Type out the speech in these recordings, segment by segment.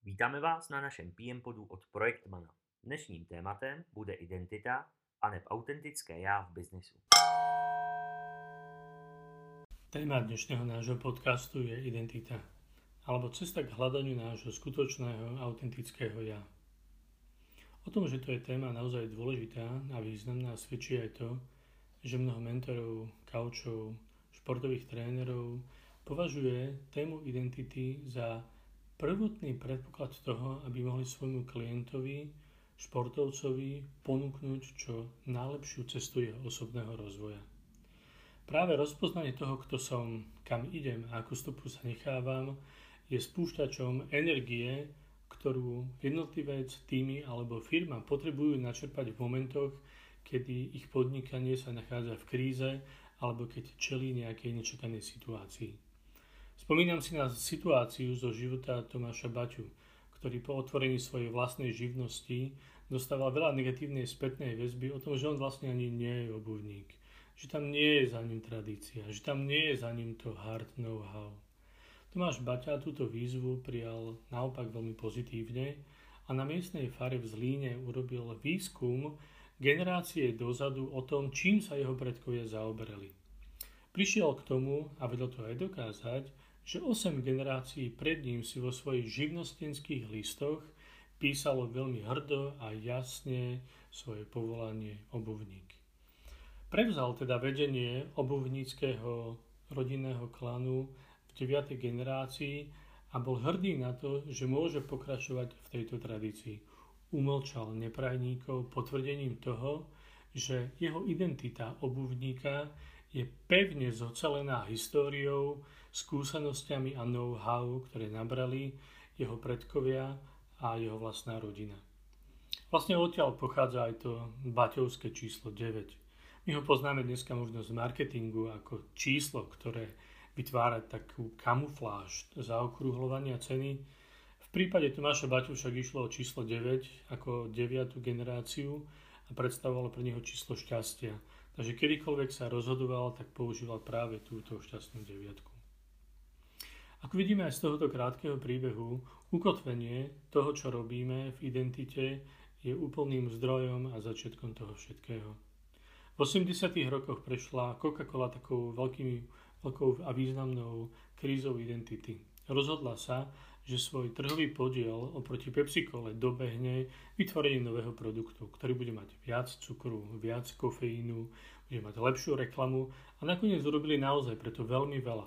Vítáme vás na našem PM podu od Projektmana. Dnešním tématem bude identita aneb autentické já v biznisu. Téma dnešného nášho podcastu je identita, alebo cesta k hľadaniu nášho skutočného, autentického ja. O tom, že to je téma naozaj dôležitá a významná, svedčí aj to, že mnoho mentorov, kaučov, športových trénerov považuje tému identity za prvotný predpoklad toho, aby mohli svojmu klientovi, športovcovi ponúknuť čo najlepšiu cestu jeho osobného rozvoja. Práve rozpoznanie toho, kto som, kam idem a akú stopu sa nechávam, je spúšťačom energie, ktorú jednotlivec, týmy alebo firma potrebujú načerpať v momentoch, kedy ich podnikanie sa nachádza v kríze alebo keď čelí nejakej nečakanej situácii. Spomínam si na situáciu zo života Tomáša Baťu, ktorý po otvorení svojej vlastnej živnosti dostával veľa negatívnej spätnej väzby o tom, že on vlastne ani nie je obuvník, že tam nie je za ním tradícia, že tam nie je za ním to hard know-how. Tomáš Baťa túto výzvu prijal naopak veľmi pozitívne a na miestnej fare v Zlíne urobil výskum generácie dozadu o tom, čím sa jeho predkovia zaoberali. Prišiel k tomu a vedel to aj dokázať, že 8 generácií pred ním si vo svojich živnostenských listoch písalo veľmi hrdo a jasne svoje povolanie obuvník. Prevzal teda vedenie obuvníckeho rodinného klanu v 9. generácii a bol hrdý na to, že môže pokračovať v tejto tradícii. Umlčal neprajníkov potvrdením toho, že jeho identita obuvníka je pevne zocelená históriou, skúsenosťami a know-how, ktoré nabrali jeho predkovia a jeho vlastná rodina. Vlastne odtiaľ pochádza aj to baťovské číslo 9. My ho poznáme dneska možno z marketingu ako číslo, ktoré vytvára takú kamufláž zaokrúhľovania ceny. V prípade Tomáša Baťu však išlo o číslo 9 ako 9. generáciu a predstavovalo pre neho číslo šťastia. Takže kedykoľvek sa rozhodoval, tak používal práve túto šťastnú 9. Ako vidíme aj z tohoto krátkeho príbehu, ukotvenie toho, čo robíme v identite, je úplným zdrojom a začiatkom toho všetkého. V 80. rokoch prešla Coca-Cola takou veľkou a významnou krízou identity. Rozhodla sa, že svoj trhový podiel oproti Pepsi-Cole dobehne vytvorením nového produktu, ktorý bude mať viac cukru, viac kofeínu, bude mať lepšiu reklamu a nakoniec urobili naozaj preto veľmi veľa.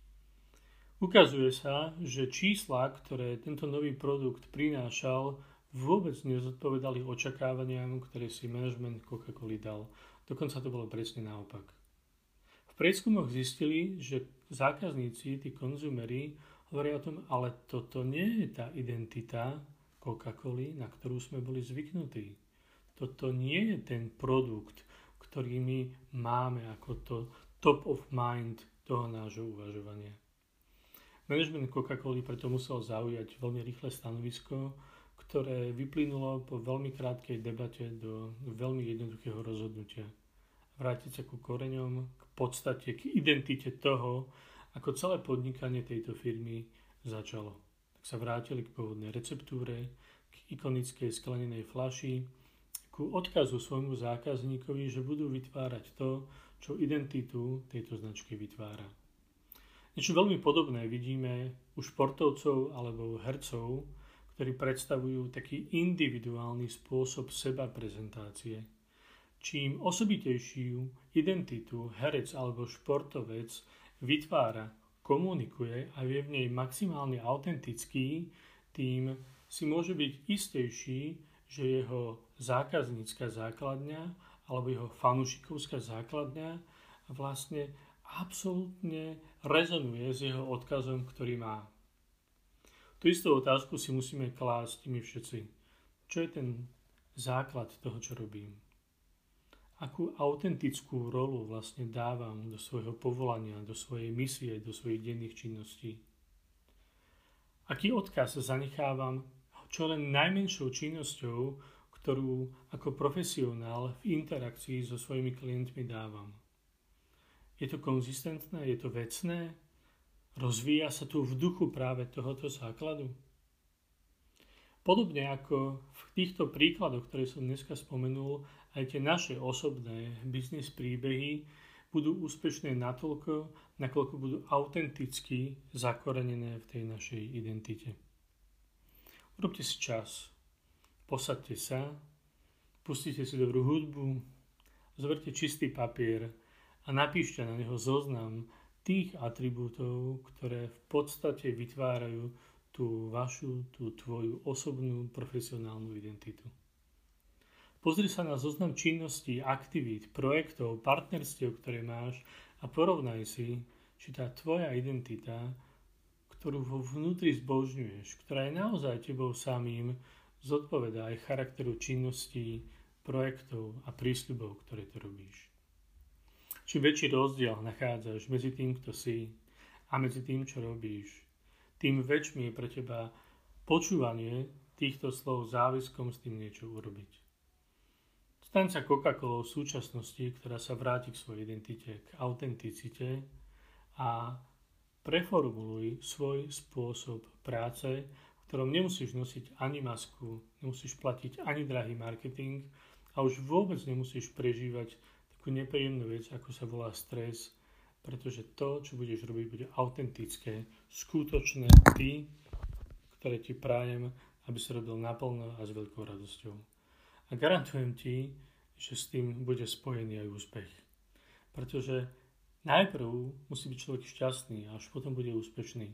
Ukazuje sa, že čísla, ktoré tento nový produkt prinášal, vôbec nezodpovedali očakávaniam, ktoré si manažment Coca-Coly dal. Dokonca to bolo presne naopak. V prieskumoch zistili, že zákazníci, tí konzumeri, hovoria o tom, ale toto nie je tá identita Coca-Coly, na ktorú sme boli zvyknutí. Toto nie je ten produkt, ktorý my máme ako to top of mind toho nášho uvažovania. Management Coca-Coly preto musel zaujať veľmi rýchle stanovisko, ktoré vyplynulo po veľmi krátkej debate do veľmi jednoduchého rozhodnutia. Vrátiť sa ku koreňom, k podstate, k identite toho, ako celé podnikanie tejto firmy začalo. Tak sa vrátili k pôvodnej receptúre, k ikonickej sklenenej fľaši, ku odkazu svojmu zákazníkovi, že budú vytvárať to, čo identitu tejto značky vytvára. Niečo veľmi podobné vidíme u športovcov alebo hercov, ktorí predstavujú taký individuálny spôsob seba prezentácie. Čím osobitejšiu identitu herec alebo športovec vytvára, komunikuje a je v nej maximálne autentický, tým si môže byť istejší, že jeho zákaznícka základňa alebo jeho fanúšikovská základňa vlastne absolútne rezonuje s jeho odkazom, ktorý má. Tú istú otázku si musíme klásť my všetci. Čo je ten základ toho, čo robím? Akú autentickú rolu vlastne dávam do svojho povolania, do svojej misie, do svojich denných činností? Aký odkaz zanechávam čo len najmenšou činnosťou, ktorú ako profesionál v interakcii so svojimi klientmi dávam? Je to konzistentné? Je to vecné? Rozvíja sa tu v duchu práve tohoto základu? Podobne ako v týchto príkladoch, ktoré som dneska spomenul, aj tie naše osobné biznis príbehy budú úspešné natoľko, nakoľko budú autenticky zakorenené v tej našej identite. Urobte si čas, posaďte sa, pustite si dobrú hudbu, zoberte čistý papier a napíšte na neho zoznam tých atribútov, ktoré v podstate vytvárajú tú tvoju osobnú profesionálnu identitu. Pozri sa na zoznam činností, aktivít, projektov, partnerstiev, ktoré máš a porovnaj si, či tá tvoja identita, ktorú vo vnútri zbožňuješ, ktorá je naozaj tebou samým, zodpovedá aj charakteru činností, projektov a prísľubov, ktoré to robíš. Čím väčší rozdiel nachádzaš medzi tým, kto si a medzi tým, čo robíš, tým väčšmi je pre teba počúvanie týchto slov záväzkom s tým niečo urobiť. Staň sa Coca-Colou v súčasnosti, ktorá sa vráti k svojej identite, k autenticite a preformuluj svoj spôsob práce, v ktorom nemusíš nosiť ani masku, nemusíš platiť ani drahý marketing a už vôbec nemusíš prežívať takú nepríjemnú vec, ako sa volá stres, pretože to, čo budeš robiť, bude autentické, skutočné ty, ktoré ti prajem, aby si robil naplno a s veľkou radosťou. A garantujem ti, že s tým bude spojený aj úspech. Pretože najprv musí byť človek šťastný a až potom bude úspešný.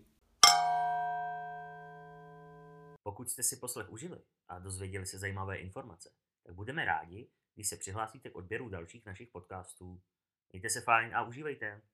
Pokud jste si poslech užili a dozvěděli se zajímavé informace, tak budeme rádi, když se přihlásíte k odběru dalších našich podcastů. Mějte se fajn a užívejte.